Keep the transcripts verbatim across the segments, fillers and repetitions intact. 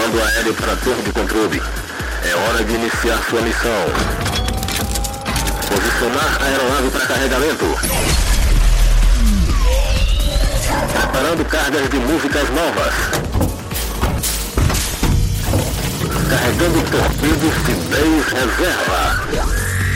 Comando aéreo para a torre de controle. É hora de iniciar sua missão. Posicionar a aeronave para carregamento. Preparando cargas de músicas novas. Carregando torpedos de dez reserva.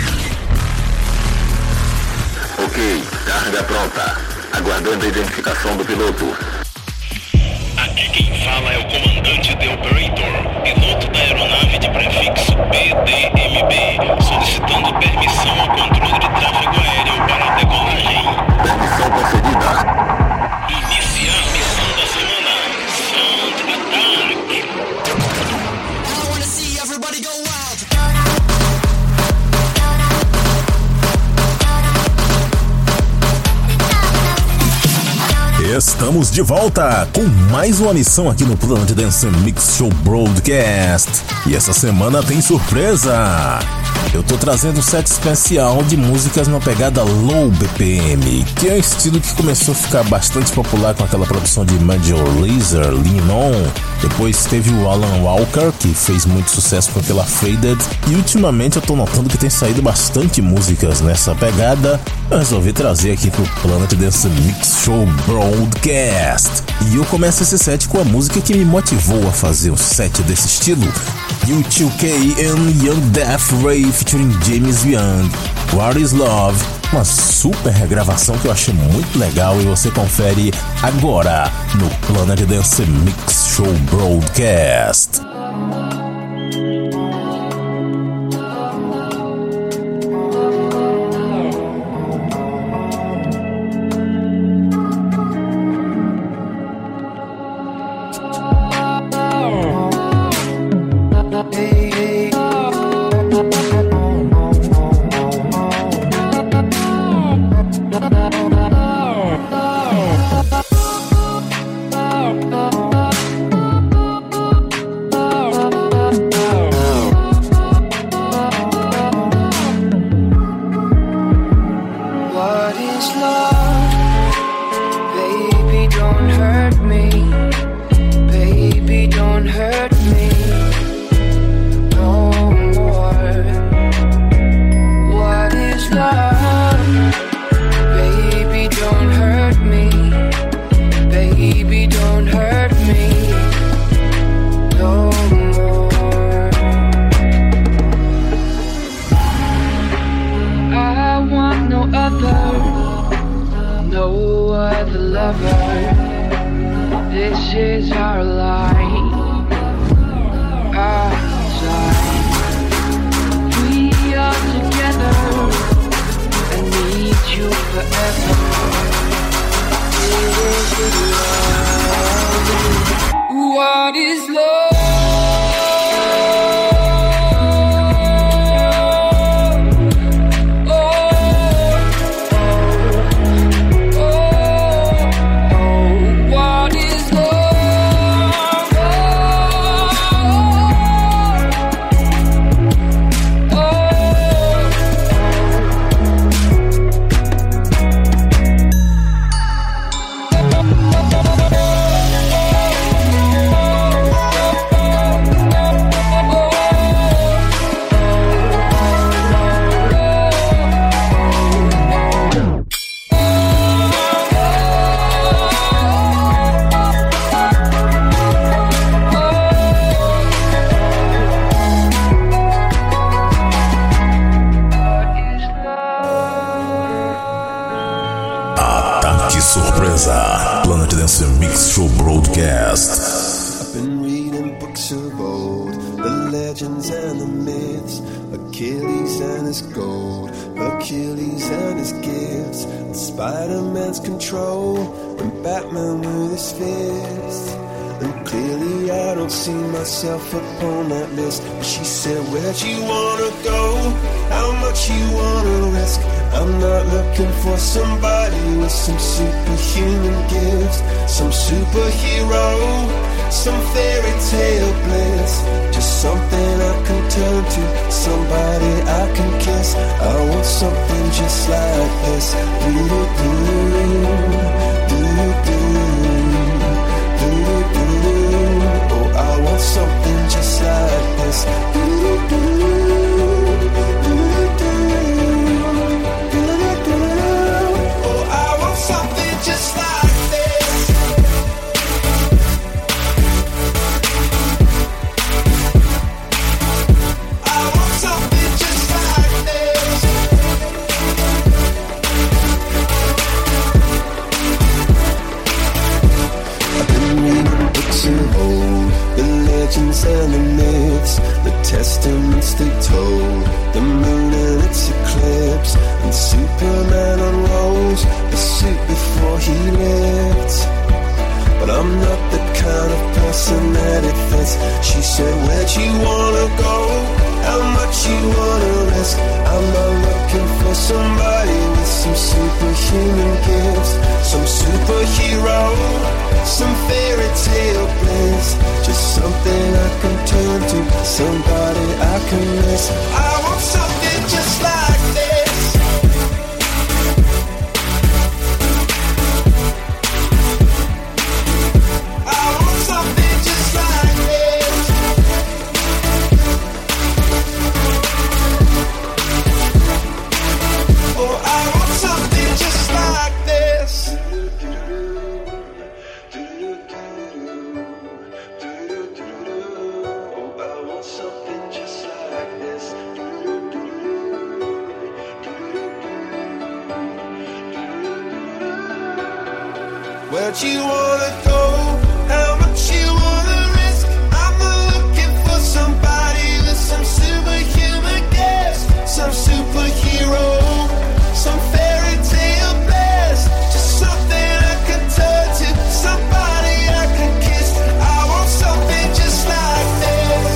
Ok, carga pronta. Aguardando a identificação do piloto. Aqui quem fala é o comandante The Operator, piloto da aeronave de prefixo P D M B, solicitando permissão ao controle de tráfego aéreo para a decolagem. Permissão concedida. Iniciar missão da semana. Sound Attack. I wanna see everybody go wild. Estamos de volta com mais uma missão aqui no Planet Dance Mix Show Broadcast. E essa semana tem surpresa! Eu tô trazendo um set especial de músicas na pegada Low B P M, que é um estilo que começou a ficar bastante popular com aquela produção de Major Lazer, Lean On. Depois teve o Alan Walker, que fez muito sucesso com aquela Faded. E ultimamente eu tô notando que tem saído bastante músicas nessa pegada. Eu resolvi trazer aqui pro Planet Dance Mix Show Broadcast. E eu começo esse set com a música que me motivou a fazer um set desse estilo. U dois K and Young Death Ray featuring James Young, What Is Love, uma super regravação que eu achei muito legal e você confere agora no Planet Dance Mix Show Broadcast. What is love? Surpresa, Planet Dance Mix Show Broadcast. I've been reading books of old, the legends and the myths, Achilles and his gold, Achilles and his gifts, and Spider-Man's control, and Batman with his fist. And clearly I don't see myself upon that list. But she said, where'd you wanna go? How much you wanna risk? I'm not looking for somebody with some superhuman gifts, some superhero, some fairy tale bliss. Just something I can turn to, somebody I can kiss. I want something just like this. Do-do-do, do-do-do, do-do-do. Oh, I want something legends and the myths, the testaments they told, the moon and its eclipse, and Superman unrolls a suit before he lived. But I'm not the kind of person that it fits. She said, where'd you wanna go? How much you wanna risk? I'm not looking for somebody with some superhuman gifts, some superhero, some fairy tale bliss. Just something I can turn to, somebody I can miss. I want something just like this. I want something just like this. Oh, I want something just like this. Where'd you wanna go? How much you wanna risk? I'm not looking for somebody with some superhuman gifts, some superhero, some fairy tale bliss. Just something I can turn to, somebody I can kiss. I want something just like this.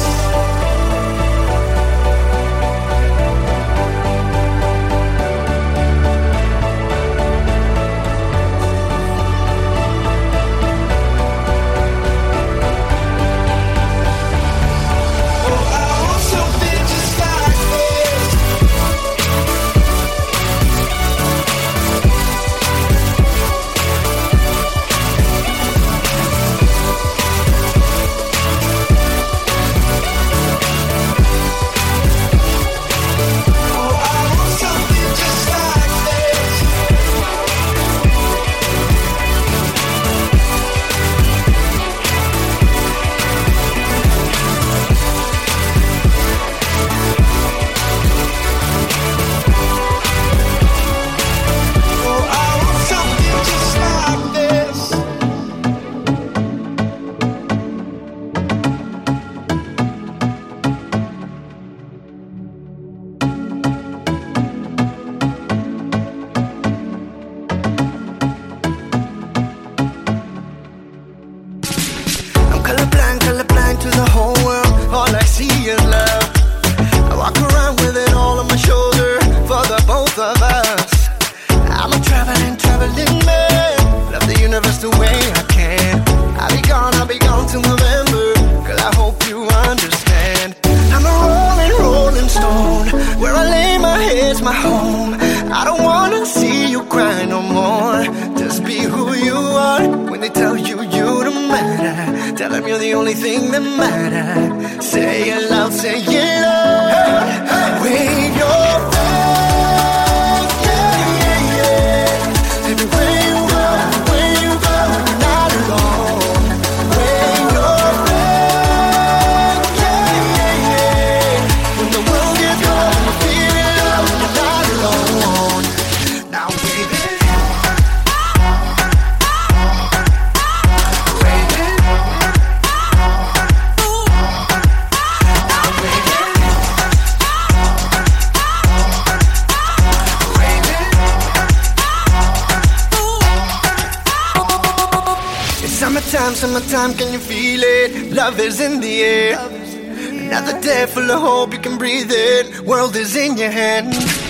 Summertime, can you feel it? Love is in the air. Another day full of hope, you can breathe it. World is in your hand.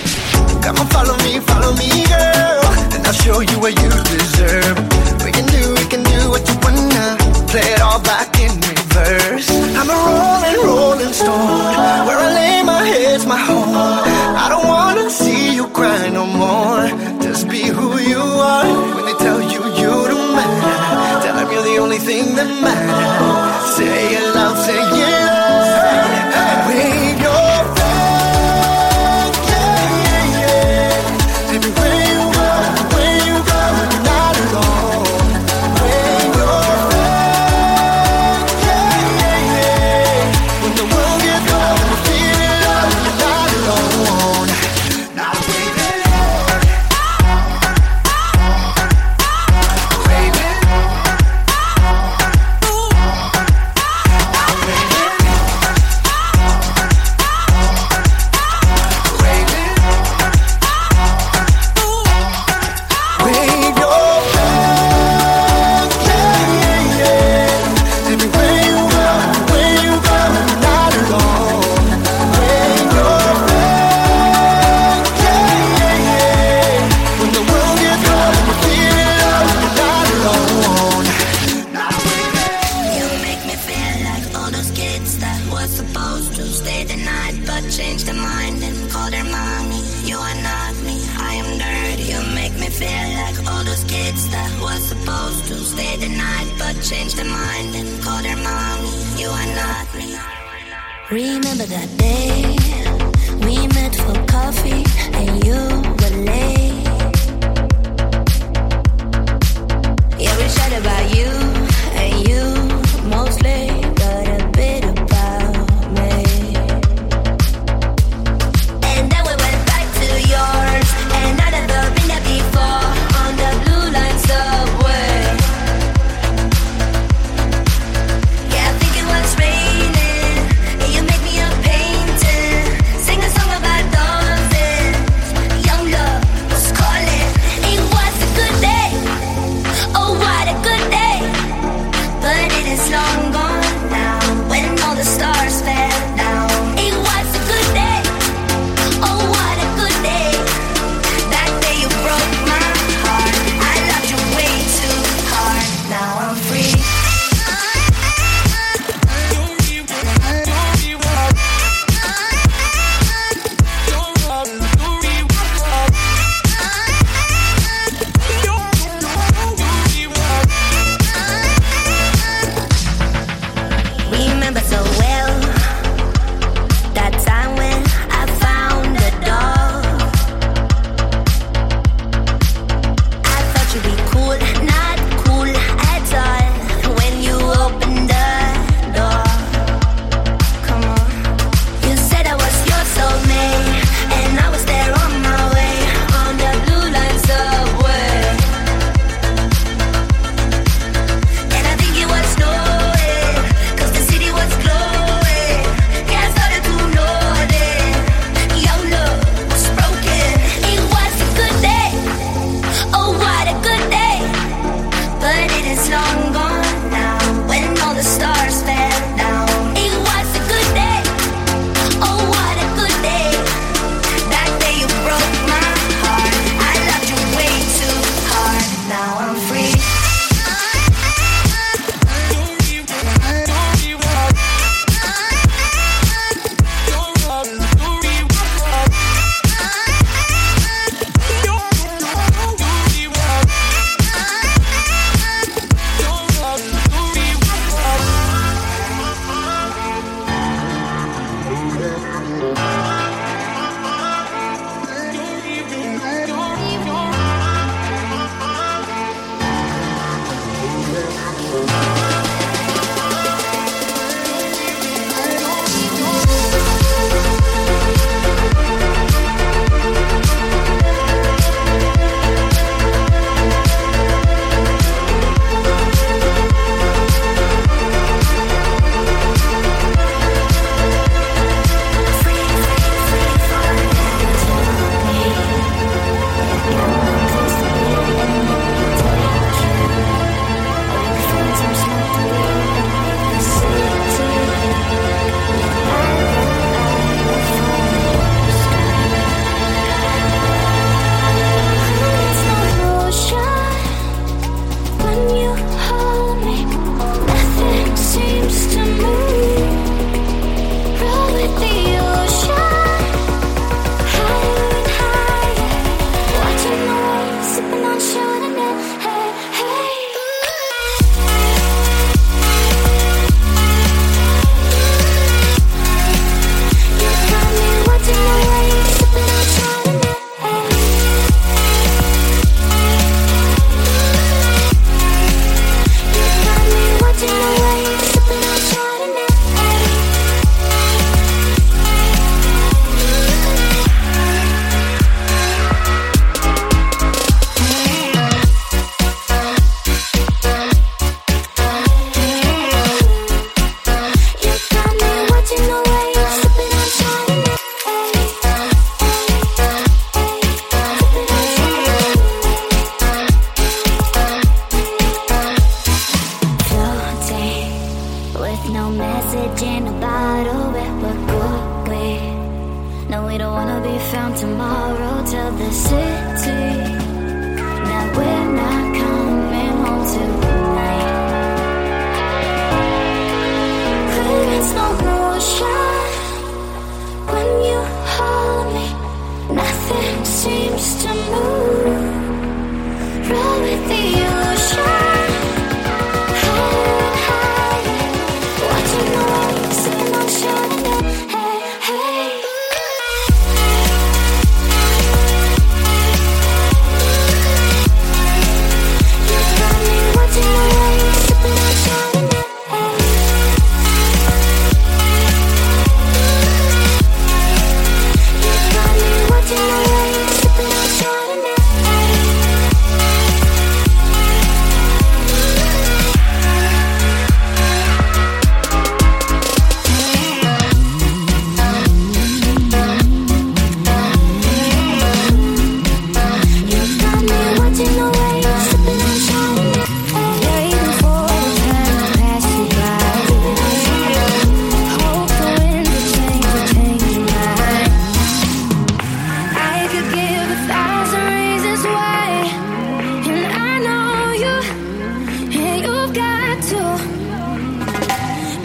Come on, follow me, follow me, girl, and I'll show you what you deserve. We can do, we can do what you wanna. Play it all back in reverse. I'm a rolling, rolling stone. Where I lay my head's my home. I don't wanna see you cry no more. Just be who you are. When they tell you you don't matter, tell them you're the only thing that matters. Say it loud, say it loud. Wave your flag, yeah, yeah, yeah. Everywhere you go, where you go, you're not alone. Wave your flag, yeah, yeah, yeah. When the world gets cold, stay the night, but changed their mind and called her mommy. You are not me, I am dirty. You make me feel like all those kids that were supposed to stay the night, but changed their mind and called her mommy. You are not me. Remember that day we met for coffee and you were late. Yeah, we chat about you and you mostly, but a bit about me. And then we went back to yours, and I'd never been there before, on the blue line subway. Yeah, I think it was raining, and you made me a painting, sing a song about dolphins. Young love was calling. It was a good day. Oh, what a good day. But it is long gone now, when all the stars fell down. It was a good day. Oh, what a good day. That day you broke my heart. I loved you way too hard. Now I'm free. Remember so well that time when I found the dog. I thought you'd be cool, not cool at all, when you opened the door. Come on, you said I was your soulmate, and I was there on my way, on the blue line subway. And I think it was snowing, 'cause the city was glowing. Yeah, I started to notice your love was broken. It was a good day. Oh, what a good day. But it is long gone now, when all the stars fell down. It was a good day. Oh, what a good day. That day you broke my heart. I loved you way too hard. Now I'm free.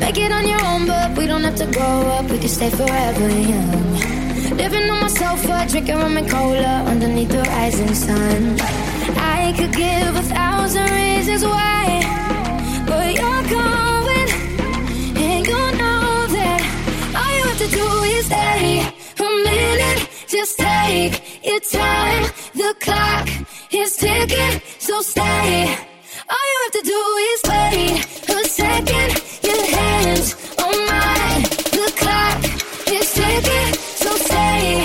Make it on your own, but we don't have to grow up. We can stay forever young. Living on my sofa, drinking rum and cola underneath the rising sun. I could give a thousand reasons why, but you're going, and you know that all you have to do is stay a minute. Just take your time. The clock is ticking, so stay. All you have to do is wait a second. Your hands on mine. The clock is ticking, so stay.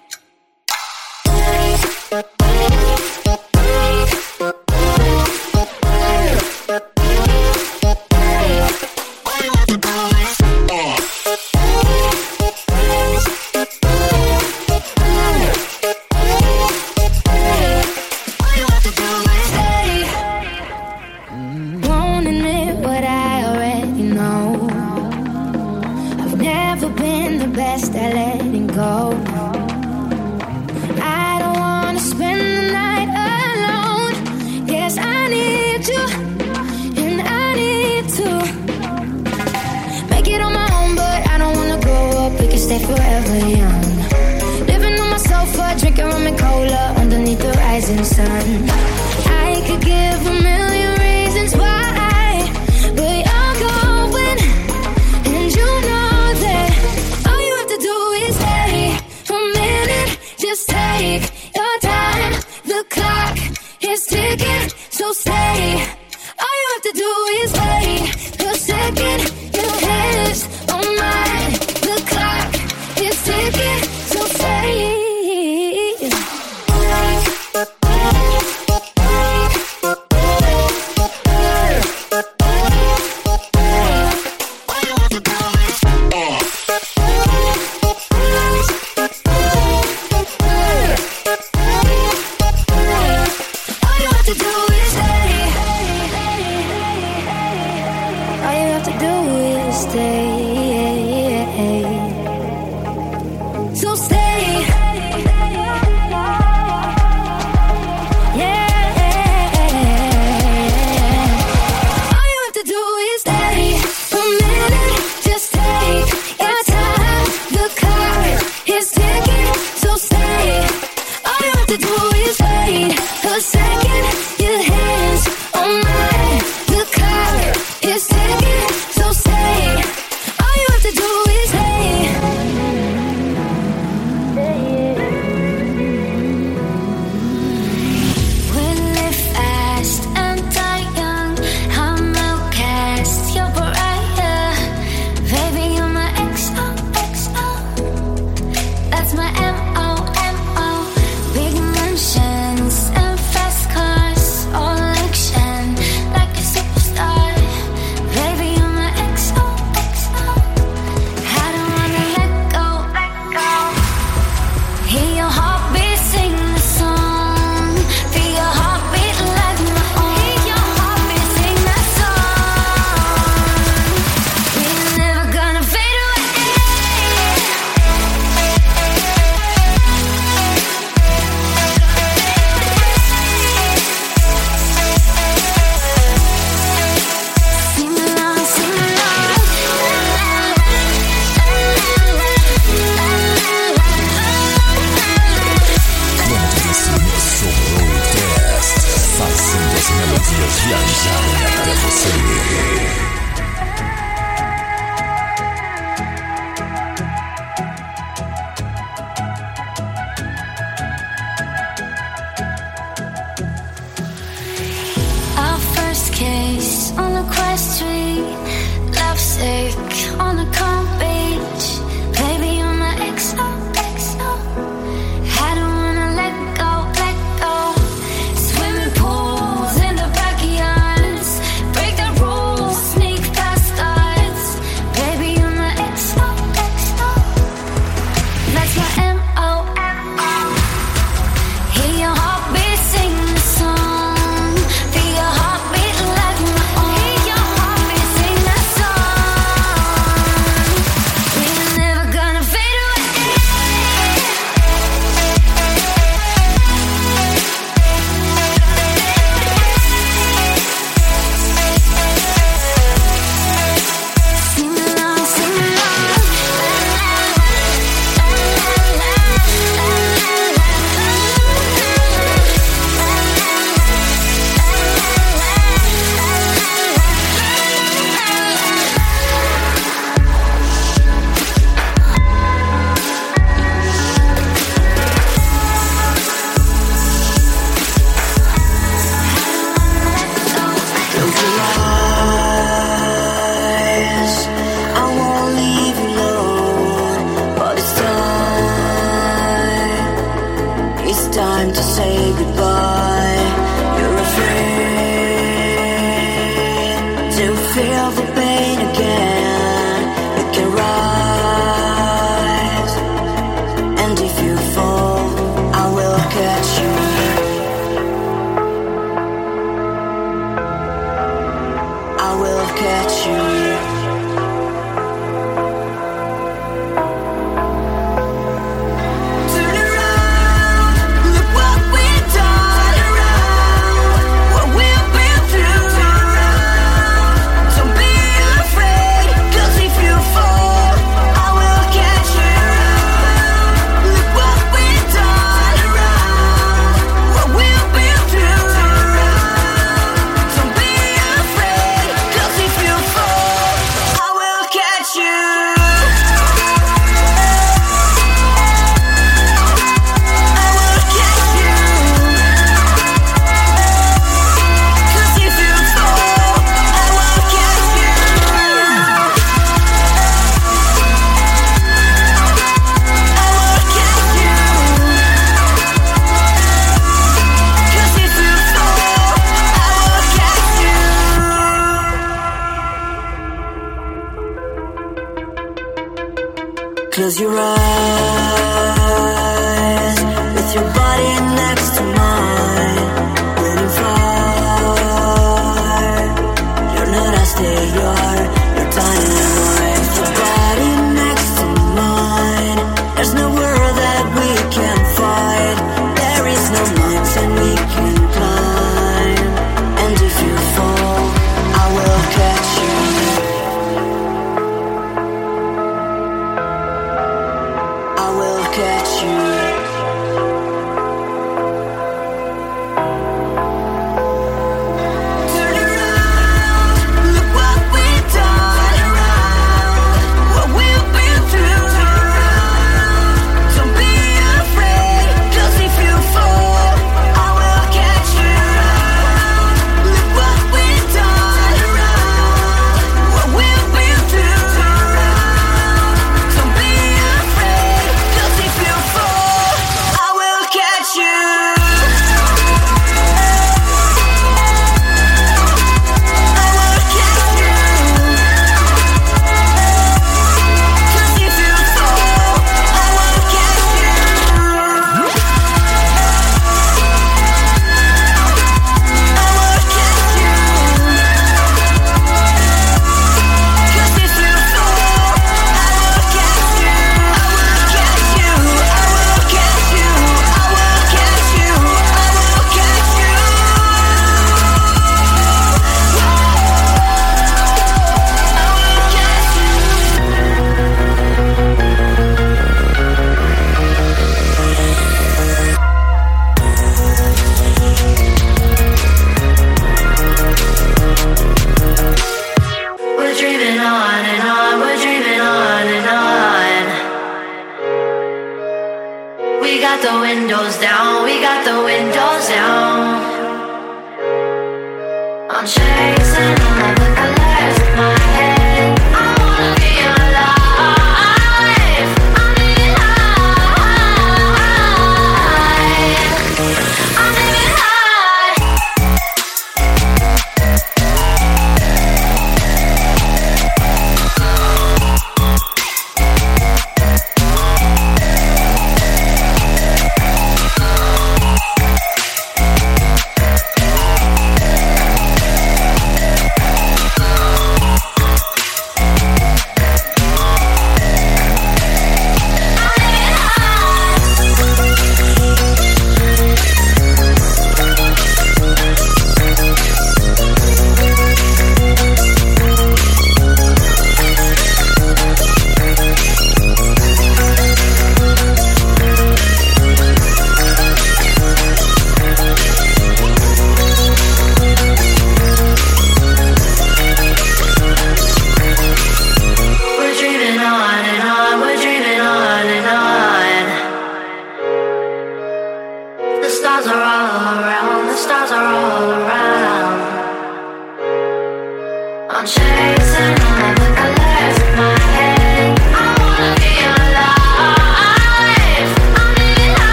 Forever young, living on my sofa, drinking rum and cola underneath the rising sun. I could give a million reasons why, but you're going, and you know that all you have to do is stay a minute. Just take your time. The clock is ticking, so stay. All you have to do is wait a second. Your hands on mine. The clock is ticking, so stay. I don't catch you. Close your eyes with your body next to mine, waiting for. You're not a stay, you're you're dynamite. With your body next to mine, there's no world that we can fight. There is no mountain we can climb, and if you fall, I will catch you. Catch you. Turn around, look what we've done. Turn around, what we've been through. Turn around, don't be afraid, 'cause if you fall, I will catch you. Look what we've done. Turn around, what we've been through. Turn around, don't be afraid, 'cause if you fall, I will catch you. I will catch you. 'Cause if you fall, I will catch you. I will catch you. 'Cause if you fall, I will catch you. I will catch you. I will catch you. I will catch you. I will catch you. We're dreaming on and on, we're dreaming on and on. We got the windows down, we got the windows down. I'm chasing all of the colors in my head. I wanna be alive. I'm living high. I'm living high.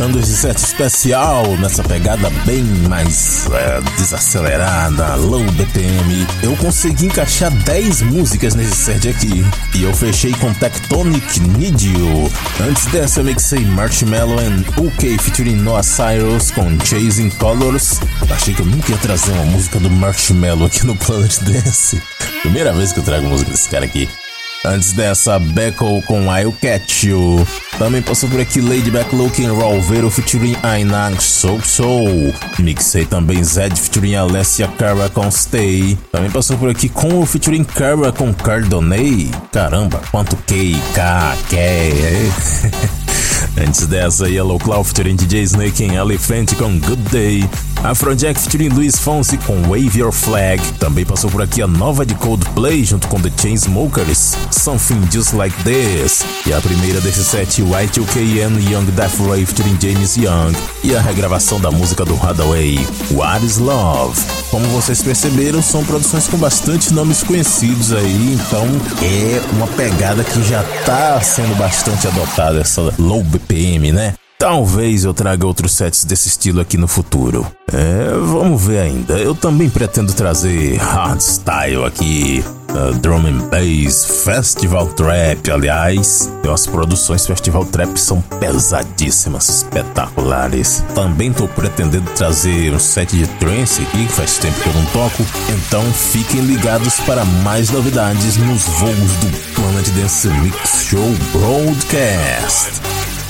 preparando esse set especial nessa pegada bem mais é, desacelerada, low B P M. Eu consegui encaixar dez músicas nesse set aqui e eu fechei com Tectonic Need You. Antes dessa eu mixei Marshmello and U K featuring Noah Cyrus com Chasing Colors. Achei que eu nunca ia trazer uma música do Marshmello aqui no Planet Dance. Primeira vez que eu trago música desse cara aqui. Antes dessa, Beckel com I'll Catch You. Também passou por aqui Lady Back Looking Raw Vero featuring Ainag So So. Mixei também Zed featuring Alessia Cara com Stay. Também passou por aqui Conwell featuring Cara com Cardonnay. Caramba, quanto K, K, K. Antes dessa, Yellow Claw featuring D J Snake em Elephant com Good Day. Afrojack featuring Luis Fonsi com Wave Your Flag. Também passou por aqui a nova de Coldplay junto com The Chainsmokers, Something Just Like This. E a primeira desse set, Y two K and Young Death Ray featuring James Young. E a regravação da música do Hathaway, What Is Love. Como vocês perceberam, são produções com bastante nomes conhecidos aí, então é uma pegada que já tá sendo bastante adotada, essa low B P M, né? Talvez eu traga outros sets desse estilo aqui no futuro. É, vamos ver ainda. Eu também pretendo trazer hardstyle aqui, uh, drum and bass, festival trap. Aliás, tem umas produções festival trap que são pesadíssimas, espetaculares. Também tô pretendendo trazer um set de trance aqui, que faz tempo que eu não toco. Então fiquem ligados para mais novidades nos voos do Planet Dance Mix Show Broadcast.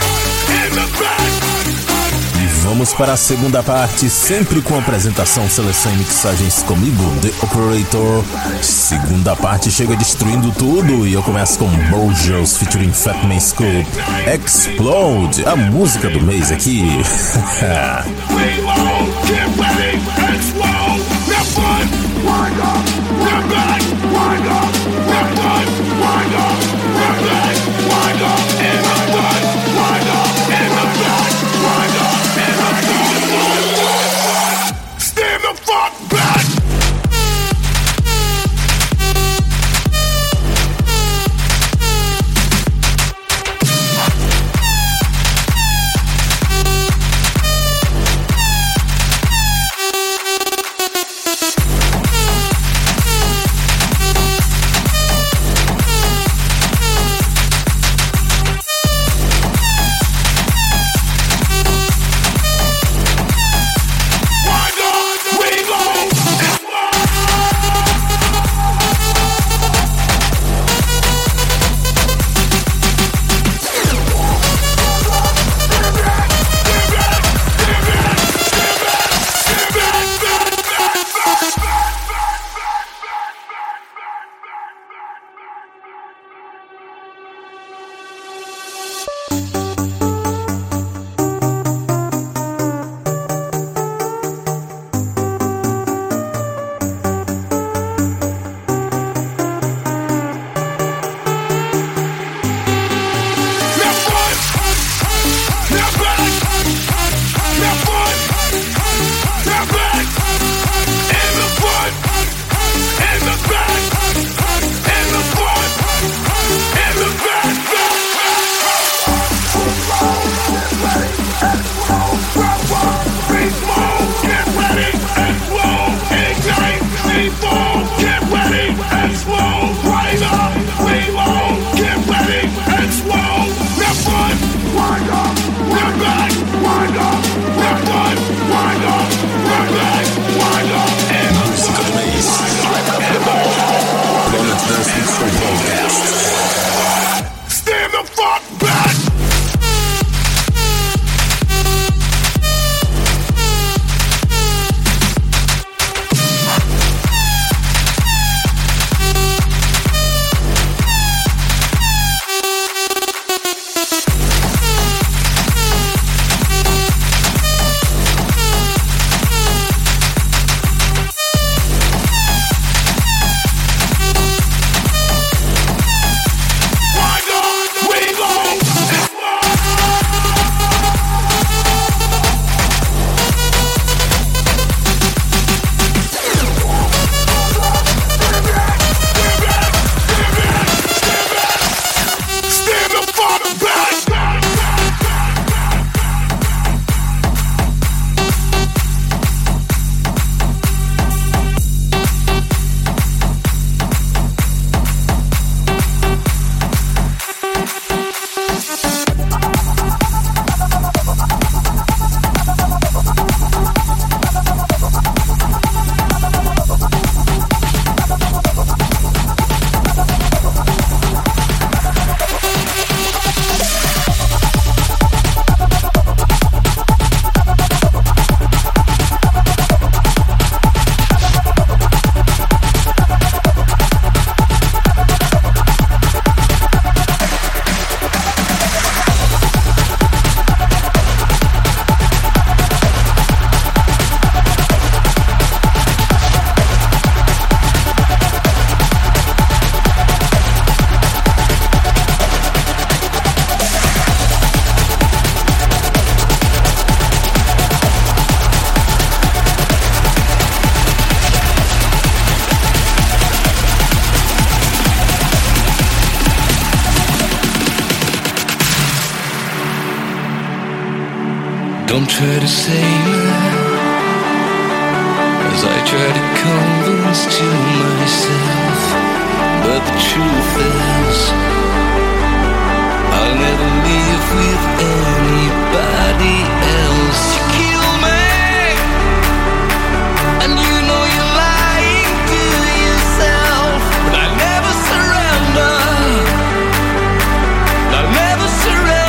E vamos para a segunda parte, sempre com apresentação, seleção e mixagens comigo, The Operator. Segunda parte chega destruindo tudo e eu começo com Burgers featuring Fatman Scoop, Explode, a música do mês aqui. Stand the fuck back! Don't try to save me as I try to convince to myself. But the truth is, I'll never live with anybody else. You kill me, and you know you're lying to yourself. But I never surrender. I'll never surrender.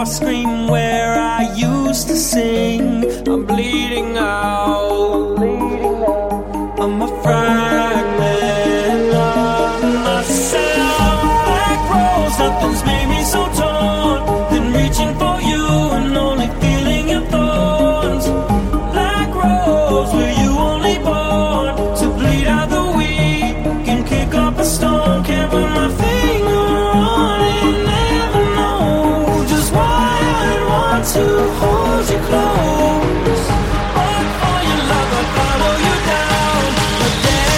scream where I used to sing. I'm bleeding out. I'm a fragment of myself. Black rose, nothing's made me so torn. Been reaching for you and only feeling your thorns. Black rose, were you only born to bleed out the weak and kick up a storm? Can't put my finger on it, never know just why I want to hold you close. But for your love, I follow you down. But there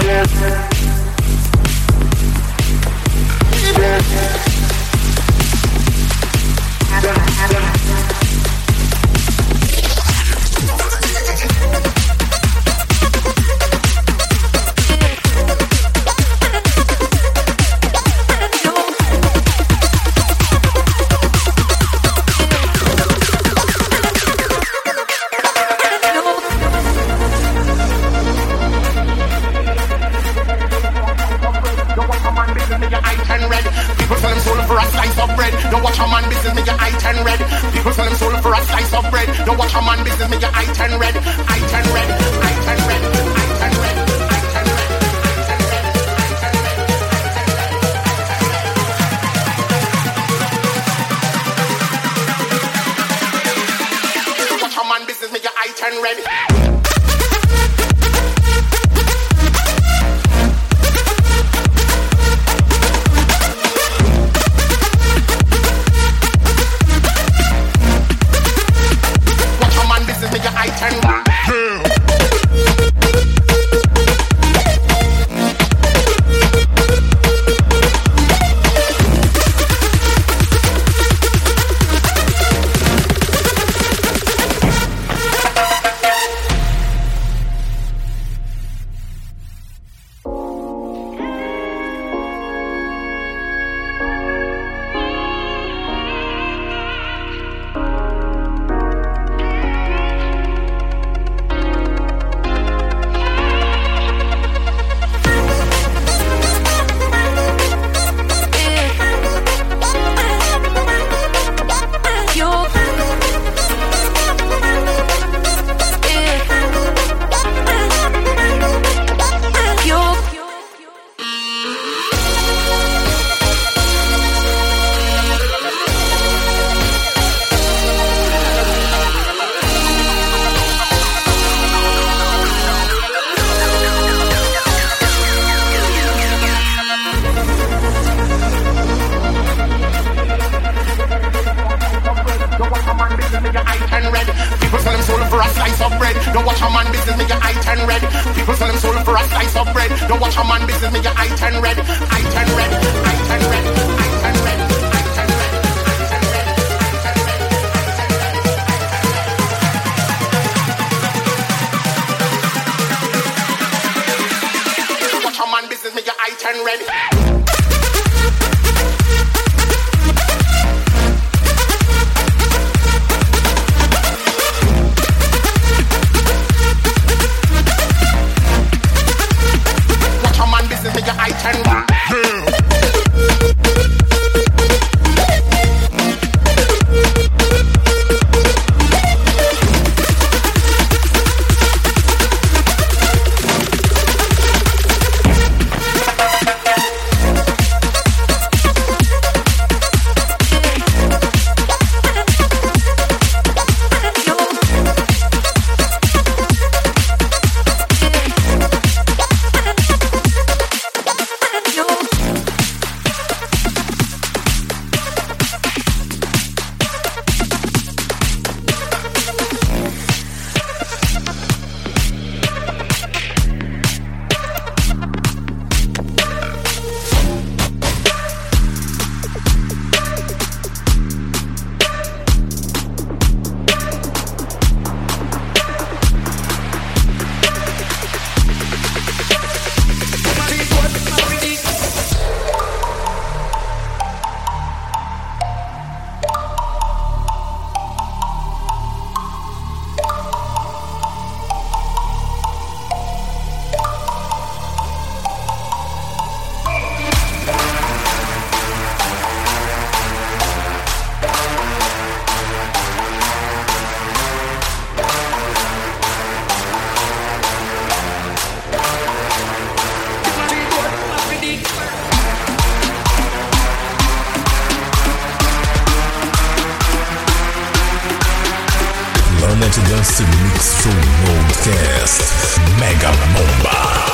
Dance Mix Show Broadcast Mega Bomba.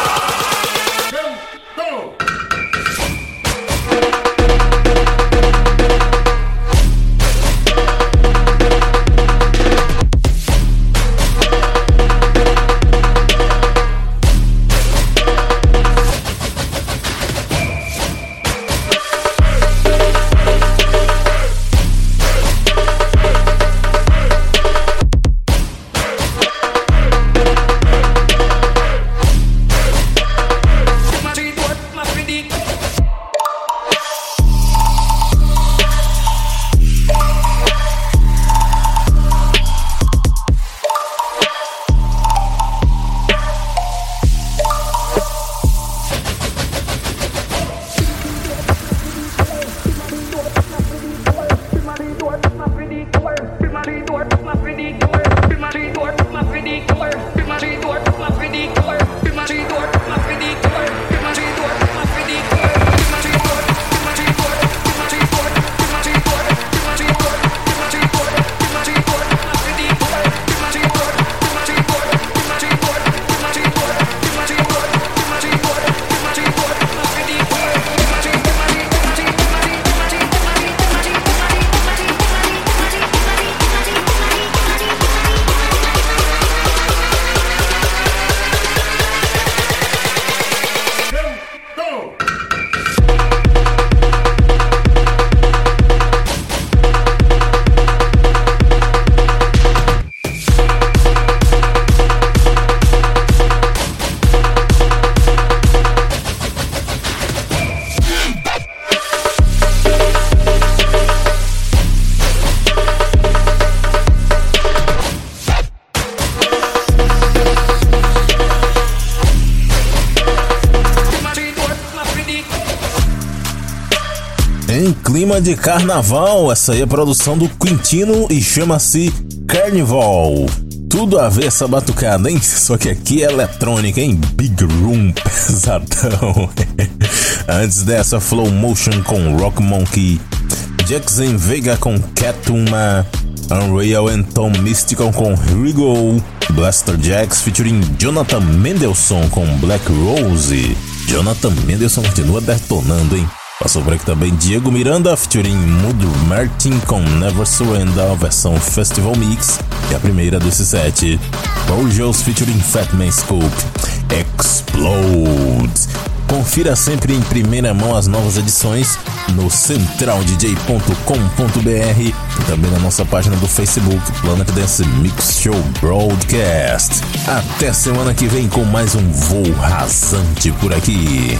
Em clima de carnaval, essa aí é a produção do Quintino e chama-se Carnival. Tudo a ver essa batucada, hein? Só que aqui é eletrônica, hein? Big Room pesadão. Antes dessa, Flow Motion com Rock Monkey, Jackson Vega com Catuma, Unreal and Tom Mystical com Here We Go, Blaster Jacks featuring Jonathan Mendelsohn com Black Rose. Jonathan Mendelsohn continua detonando, hein? Passou por aqui também Diego Miranda featuring Mood Martin com Never Surrender, versão Festival Mix, que é a primeira desse set. Borgeos featuring Fatman Scope, Explode. Confira sempre em primeira mão as novas edições no central d j ponto com ponto b r e também na nossa página do Facebook, Planet Dance Mix Show Broadcast. Até semana que vem com mais um voo rasante por aqui.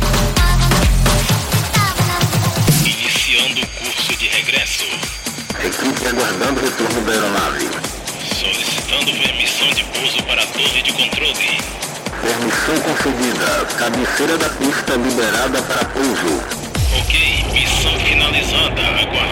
Iniciando o curso de regresso. Equipe aguardando o retorno da aeronave. Solicitando permissão de pouso para a torre de controle. Permissão concedida. Cabeceira da pista liberada para pouso. Ok, missão finalizada. Aguarde.